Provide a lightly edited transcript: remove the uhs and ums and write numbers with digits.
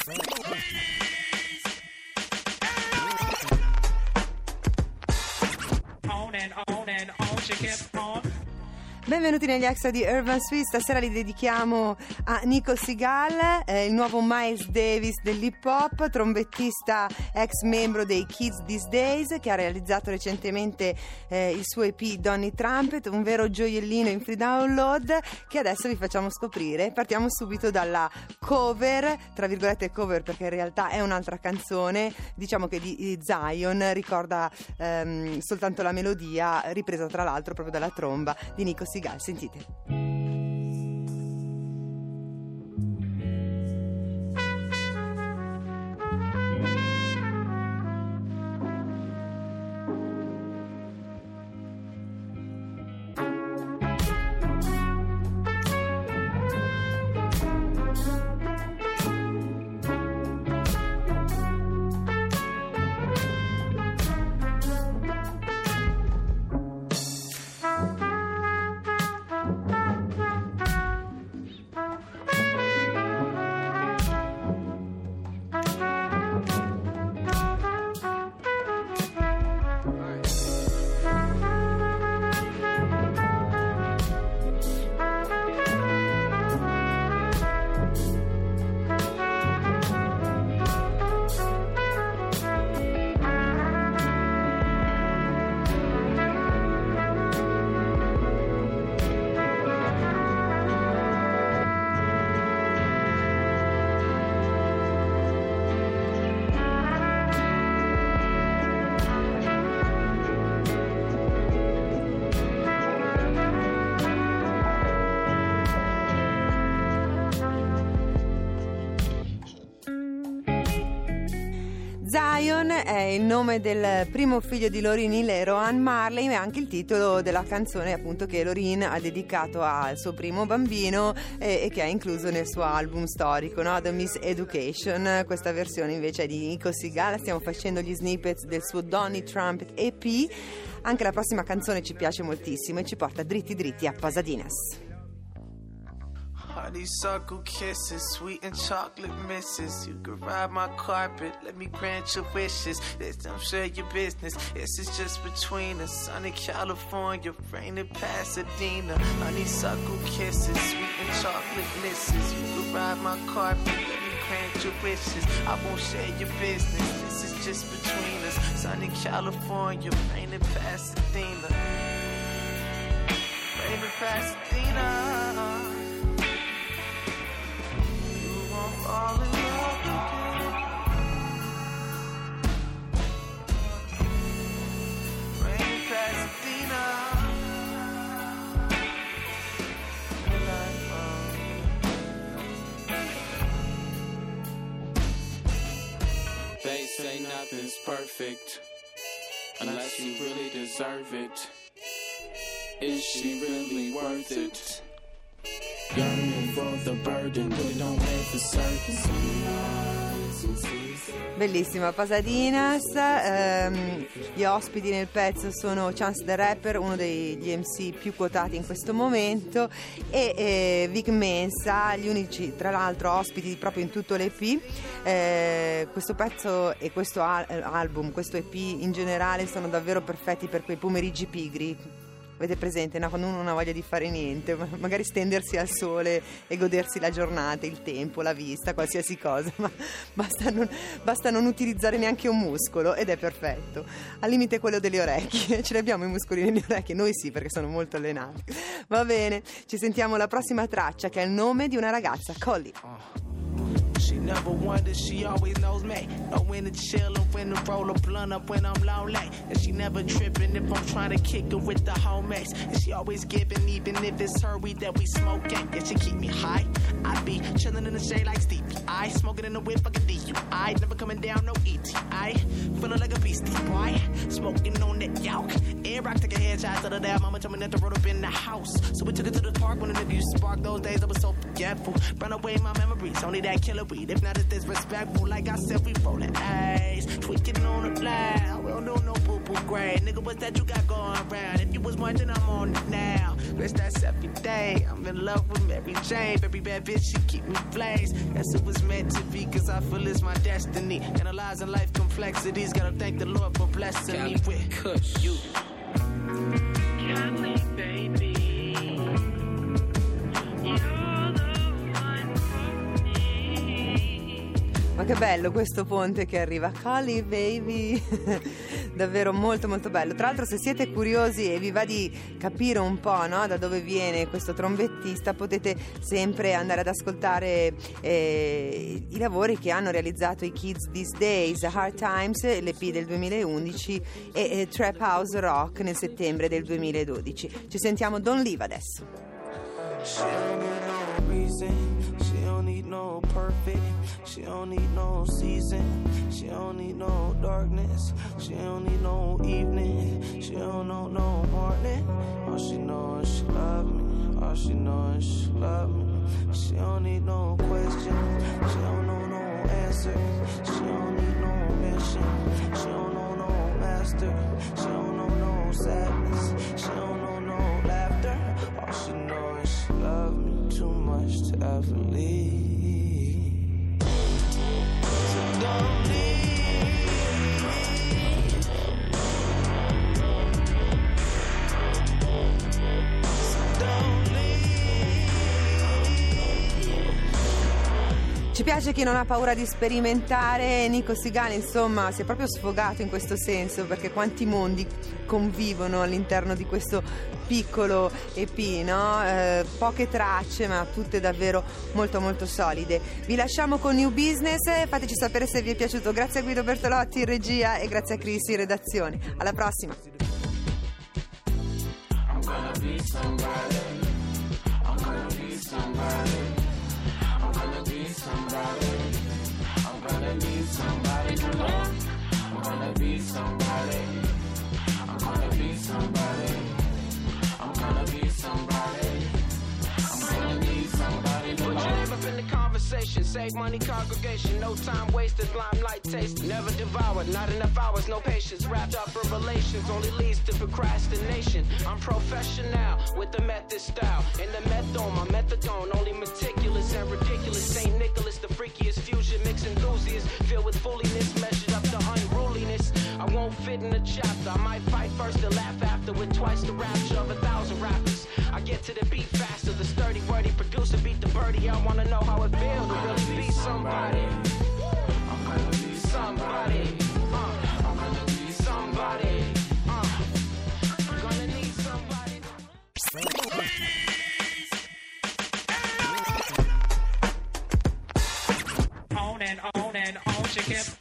Benvenuti negli extra di Urban Sweet. Stasera li dedichiamo a Nico Segal, il nuovo Miles Davis dell'hip hop, trombettista ex membro dei Kids These Days, che ha realizzato recentemente il suo EP Donny Trumpet, un vero gioiellino in free download che adesso vi facciamo scoprire. Partiamo subito dalla cover, tra virgolette cover perché in realtà è un'altra canzone, diciamo che di Zion, ricorda soltanto la melodia, ripresa tra l'altro proprio dalla tromba di Nico Segal. Sentite. Zion è il nome del primo figlio di Lauryn Hill e Rohan Marley, ma è anche il titolo della canzone appunto che Lauryn ha dedicato al suo primo bambino e che ha incluso nel suo album storico, no? The Miseducation. Questa versione invece è di Nico Segal. Stiamo facendo gli snippets del suo Donny Trumpet EP. Anche la prossima canzone ci piace moltissimo e ci porta dritti dritti a Pasadinas. Honeysuckle kisses, sweet and chocolate misses. You can ride my carpet, let me grant your wishes. This don't share your business, this is just between us. Sunny California, rain in Pasadena. Honeysuckle kisses, sweet and chocolate misses. You can ride my carpet, let me grant your wishes. I won't share your business, this is just between us. Sunny California, rain in Pasadena. Rain in Pasadena. Fall in love again. Rain in Pasadena. They say nothing's perfect unless you really deserve it. Is she really worth it? Yearning for the burden, but it don't make the circus. Bellissima Pasadinas. Gli ospiti nel pezzo sono Chance the Rapper, uno degli MC più quotati in questo momento, e Vic Mensa, gli unici tra l'altro ospiti proprio in tutto l'EP. Questo pezzo e questo album, questo EP in generale sono davvero perfetti per quei pomeriggi pigri. Avete presente, no? Quando uno non ha voglia di fare niente, magari stendersi al sole e godersi la giornata, il tempo, la vista, qualsiasi cosa, ma basta non utilizzare neanche un muscolo ed è perfetto. Al limite quello delle orecchie, ce li abbiamo i muscoli nelle orecchie? Noi sì, perché sono molto allenati. Va bene, ci sentiamo la prossima traccia che è il nome di una ragazza, Collie. She never wonders, she always knows me. Know when to chill or when to roll a blunt up when I'm lonely. And she never tripping if I'm trying to kick her with the homies. And she always giving, even if it's her weed that we smoking. Yeah, she keep me high. I be chilling in the shade like Stevie. I smoking in the whip like a DUI. Never coming down, no ET. I feeling like a beastie boy. Smoking on that yolk. Air rock take a headshot to the dad. Mama told me not to roll up in the house. So we took it to the park when the nigga used to spark. Those days I was so forgetful. Run away my memories. Only that killer weed. If not, it's disrespectful. Like I said, we rollin' A's. Tweaking on the loud. We don't do no boo-boo grade. Nigga, what's that you got going around? If you was watching, I'm on it now. Bitch, that's every day. I'm in love with Mary Jane. Every bad bitch, she keep me blazed. Guess it was it's meant to be, cause I feel it's my destiny. Analyzing life complexities, gotta thank the Lord for blessing me with Kush. You. Cali, baby. Ma che bello questo ponte che arriva, Cali baby, davvero molto molto bello. Tra l'altro, se siete curiosi e vi va di capire un po', no, da dove viene questo trombettista, potete sempre andare ad ascoltare i lavori che hanno realizzato i Kids These Days, Hard Times, l'EP del 2011 e Trap House Rock nel settembre del 2012. Ci sentiamo Don't Leave adesso. She don't need no perfect. She don't need no season. She don't need no darkness. She don't need no evening. She don't know no morning. All she knows is she love me. All she knows is she love me. She don't need no question. She don't know no answer. She don't need no mission. She don't know no master. She don't know no sadness. She don't know no laughter. All she knows is she love me too much to ever leave. So don't leave. So don't leave. Ci piace chi non ha paura di sperimentare. Nico Sigani, insomma, si è proprio sfogato in questo senso, perché quanti mondi convivono all'interno di questo piccolo EP, no? Poche tracce, ma tutte davvero molto molto solide. Vi lasciamo con New Business, fateci sapere se vi è piaciuto. Grazie a Guido Bertolotti in regia e grazie a Chris in redazione. Alla prossima. I'm gonna be somebody. I'm gonna be somebody. I'm gonna be somebody. I'm gonna need somebody to love. I'm gonna be somebody. I'm gonna be somebody. I'm gonna be somebody. I'm gonna need somebody to Put your name up in the conversation. Save money, congregation. No time wasted. Limelight taste. Never devoured. Not enough hours. No patience. Wrapped up in relations. Only leads to procrastination. I'm professional with the method style. In the methone, my methadone. Only meticulous and ridiculous. St. Nicholas, the freakiest fusion. Mix enthusiasts. Filled with fooliness. Measured up to unruliness. I won't fit in the chapter. I might fight first and laugh after. With twice the rapture of 1,000 rappers. I get to the beat faster. The sturdy, wordy producer beat the birdie. I wanna know how it feels to really be somebody. I'm gonna be Somebody. I'm gonna be somebody. I'm gonna need somebody. On and on and on she kept